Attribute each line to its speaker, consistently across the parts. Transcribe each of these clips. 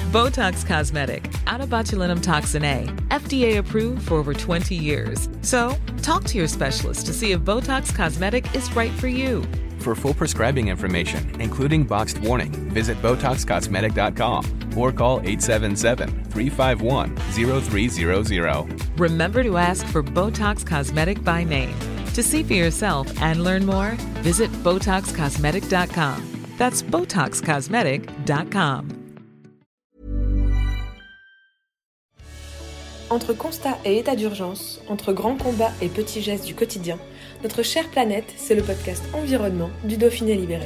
Speaker 1: Botox Cosmetic, out of botulinum toxin A, FDA approved for over 20 years. So, talk to your specialist to see if Botox Cosmetic is right for you.
Speaker 2: For full prescribing information, including boxed warning, visit BotoxCosmetic.com or call 877-351-0300.
Speaker 1: Remember to ask for Botox Cosmetic by name. To see for yourself and learn more, visit BotoxCosmetic.com. That's BotoxCosmetic.com.
Speaker 3: Entre constat et état d'urgence, entre grands combats et petits gestes du quotidien, notre chère planète, c'est le podcast Environnement du Dauphiné Libéré.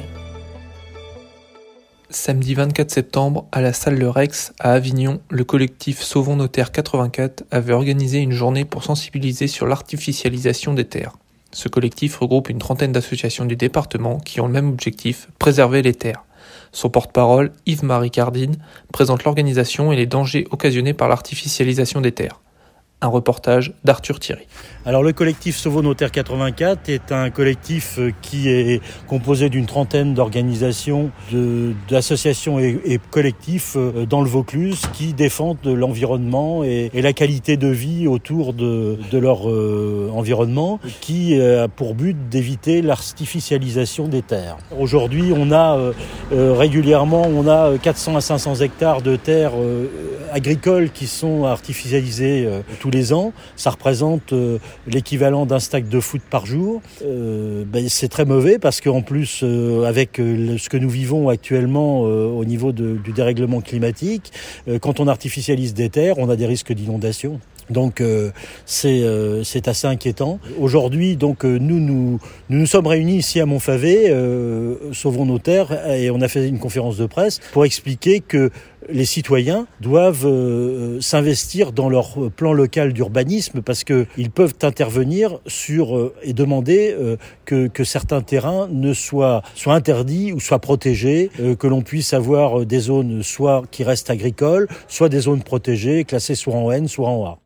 Speaker 4: Samedi 24 septembre, à la salle Le Rex, à Avignon, le collectif Sauvons nos terres 84 avait organisé une journée pour sensibiliser sur l'artificialisation des terres. Ce collectif regroupe une trentaine d'associations du département qui ont le même objectif, préserver les terres. Son porte-parole, Yves-Marie Cardine, présente l'organisation et les dangers occasionnés par l'artificialisation des terres. Un reportage d'Arthur Thierry.
Speaker 5: Alors le collectif Sauvons nos terres 84 est un collectif qui est composé d'une trentaine d'organisations, d'associations et collectifs dans le Vaucluse qui défendent l'environnement et la qualité de vie autour de leur environnement, qui a pour but d'éviter l'artificialisation des terres. Aujourd'hui, on a régulièrement 400 à 500 hectares de terres agricoles qui sont artificialisées tous les ans. Ça représente l'équivalent d'un stack de foot par jour. C'est très mauvais parce qu'en plus, avec ce que nous vivons actuellement au niveau du dérèglement climatique, quand on artificialise des terres, on a des risques d'inondation. Donc c'est assez inquiétant. Aujourd'hui, donc nous sommes réunis ici à Montfavet, Sauvons nos terres, et on a fait une conférence de presse pour expliquer que les citoyens doivent s'investir dans leur plan local d'urbanisme parce que ils peuvent intervenir sur et demander que certains terrains ne soient interdits ou soient protégés, que l'on puisse avoir des zones soit qui restent agricoles, soit des zones protégées, classées soit en N, soit en A.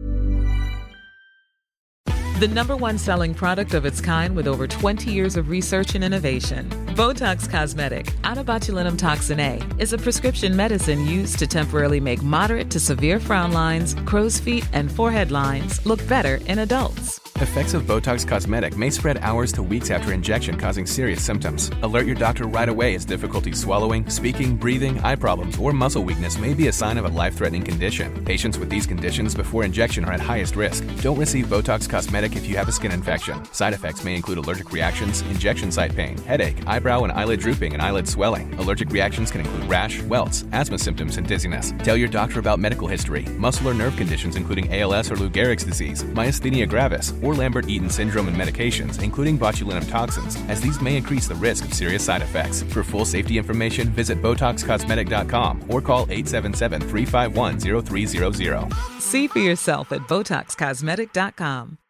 Speaker 1: The number one selling product of its kind with over 20 years of research and innovation. Botox Cosmetic, out of botulinum toxin A, is a prescription medicine used to temporarily make moderate to severe frown lines, crow's feet, and forehead lines look better in adults.
Speaker 2: Effects of Botox Cosmetic may spread hours to weeks after injection, causing serious symptoms. Alert your doctor right away as difficulty swallowing, speaking, breathing, eye problems, or muscle weakness may be a sign of a life-threatening condition. Patients with these conditions before injection are at highest risk. Don't receive Botox Cosmetic if you have a skin infection. Side effects may include allergic reactions, injection site pain, headache, eyebrow and eyelid drooping, and eyelid swelling. Allergic reactions can include rash, welts, asthma symptoms, and dizziness. Tell your doctor about medical history, muscle or nerve conditions including ALS or Lou Gehrig's disease, myasthenia gravis, or Lambert-Eaton syndrome and medications, including botulinum toxins, as these may increase the risk of serious side effects. For full safety information, visit BotoxCosmetic.com or call 877-351-0300.
Speaker 1: See for yourself at BotoxCosmetic.com.